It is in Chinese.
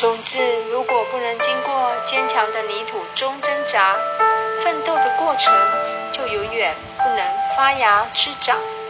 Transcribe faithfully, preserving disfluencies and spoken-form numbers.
种子如果不能经过坚强的泥土中挣扎、奋斗的过程，就永远不能发芽滋长。